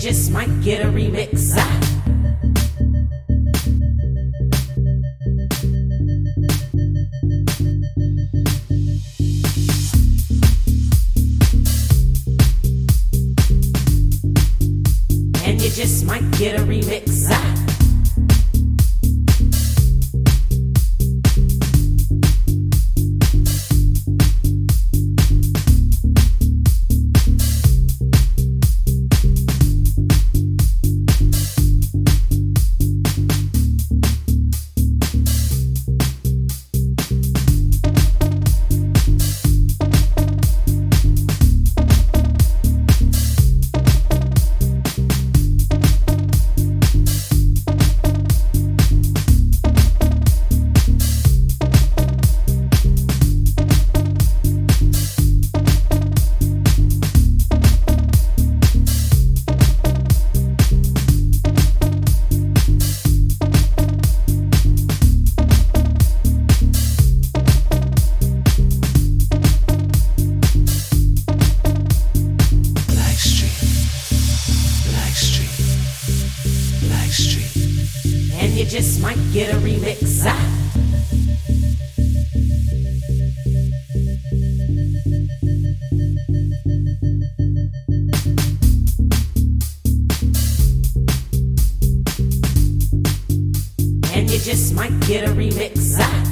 just might get a remix. And you just might get a remix. And you just might get a remix. And you just might get a remix.